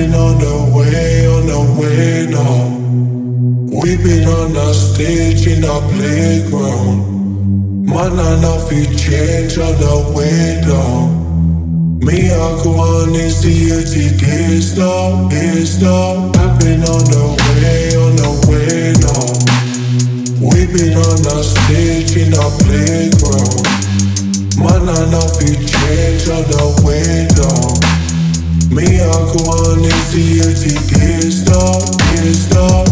been on the way now. We've been on the stage in the playground. Man, I know fi change on the way down. Me, I go on these 80 days now, days now. I've been on the way now. We've been on the stage in the playground. Man, I know fi change on the way down. Me, I go on these 80 days now, days now.